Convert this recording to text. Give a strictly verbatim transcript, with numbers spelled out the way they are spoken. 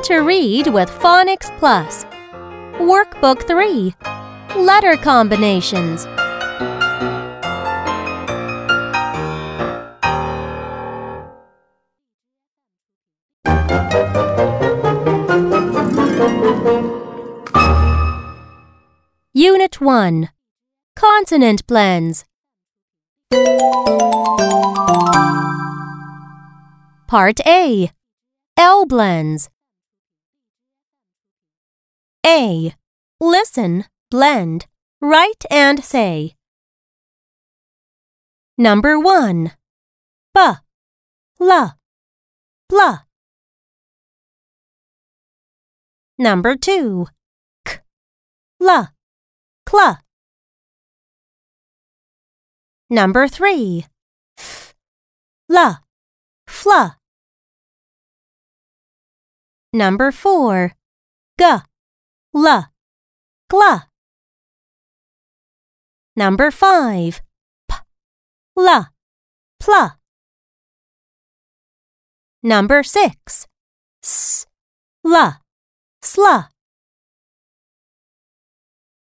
to read with Phonics Plus. Workbook three. Letter combinations. Unit one. Consonant blends. Part A. L blends. A. Listen, blend, write and say. Number one. B, L, blah. Number two. K, L, cla. Number three. F, L, fla. Number four. G, L, gla. Number five. P, L, pla. Number six. S, L, sla.